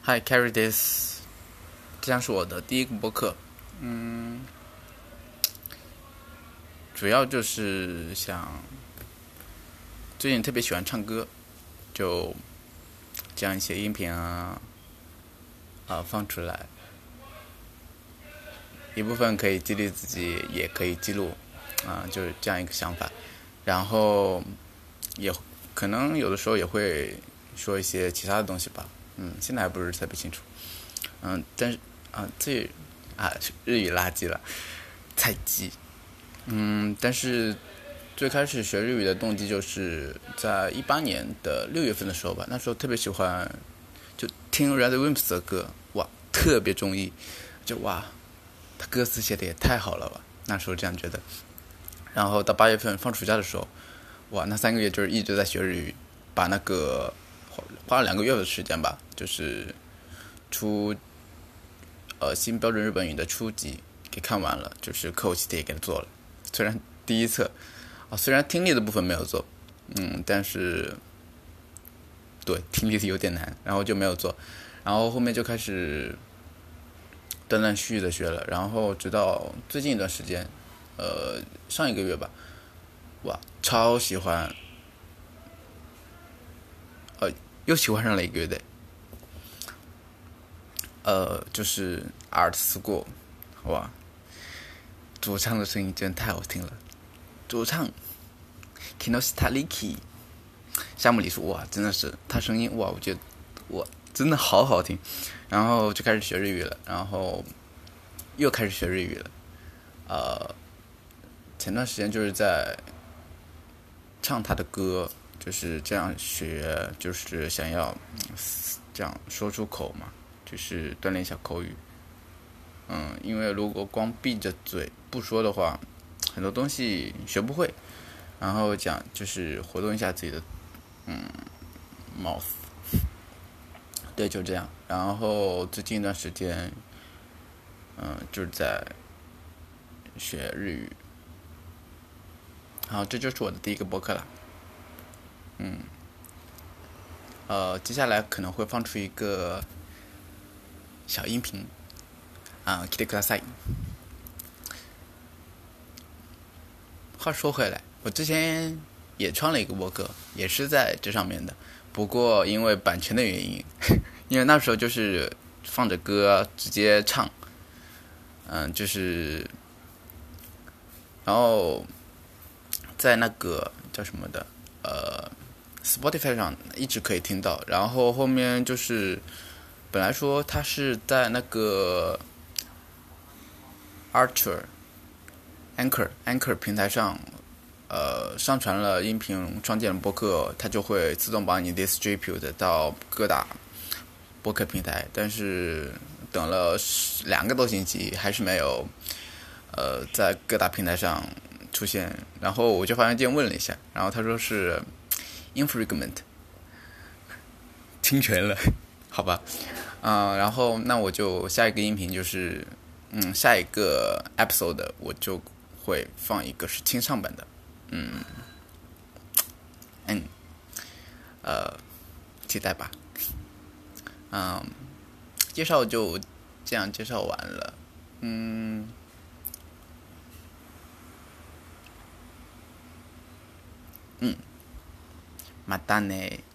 Hi, carry this，这将是我的第一个播客。主要就是想最近特别喜欢唱歌，就将一些音频放出来，一部分可以激励自己，也可以记录就是这样一个想法。然后也可能有的时候也会说一些其他的东西吧。现在还不是特别清楚。但是日语垃圾了，菜鸡。但是最开始学日语的动机就是在18年的6月份的时候吧，那时候特别喜欢就听 Red Wimps 的歌，哇，特别中意，他歌词写的也太好了吧，那时候这样觉得。然后到8月份放暑假的时候，哇，那3个月就是一直在学日语，把那个花了2个月的时间吧，就是新标准日本语的初级给看完了，就是课后习题也给他做了。虽然第一册虽然听力的部分没有做，但是对听力有点难，然后就没有做，然后后面就开始断断续续的学了，然后直到最近一段时间，上一个月吧，哇，超喜欢，又喜欢上了一个乐队，就是 Art School， 哇，主唱的声音真的太好听了，主唱 Kinoshita Riki 夏目里树，哇，真的是他声音，哇，我觉得哇真的好好听，然后就开始学日语了，然后又开始学日语了，前段时间就是在唱他的歌，就是这样学，就是想要这样说出口嘛，就是锻炼一下口语。因为如果光闭着嘴不说的话，很多东西学不会。然后讲就是活动一下自己的mouth，对，就这样。然后最近一段时间，就是在学日语。好，这就是我的第一个播客了。接下来可能会放出一个小音频聞いてください。话说回来，我之前也创了一个播客，也是在这上面的，不过因为版权的原因，因为那时候就是放着歌直接唱，就是然后在那个叫什么的Spotify 上一直可以听到，然后后面就是本来说它是在那个 Anchor 平台上上传了音频创建的播客，它就会自动帮你 distribute 到各大播客平台，但是等了2个多星期还是没有在各大平台上出现，然后我就发邮件问了一下，然后他说是 infringement 侵权了，好吧，然后那我就下一个音频就是下一个 episode 我就会放一个是清唱版的，期待吧。介绍就这样介绍完了。またね。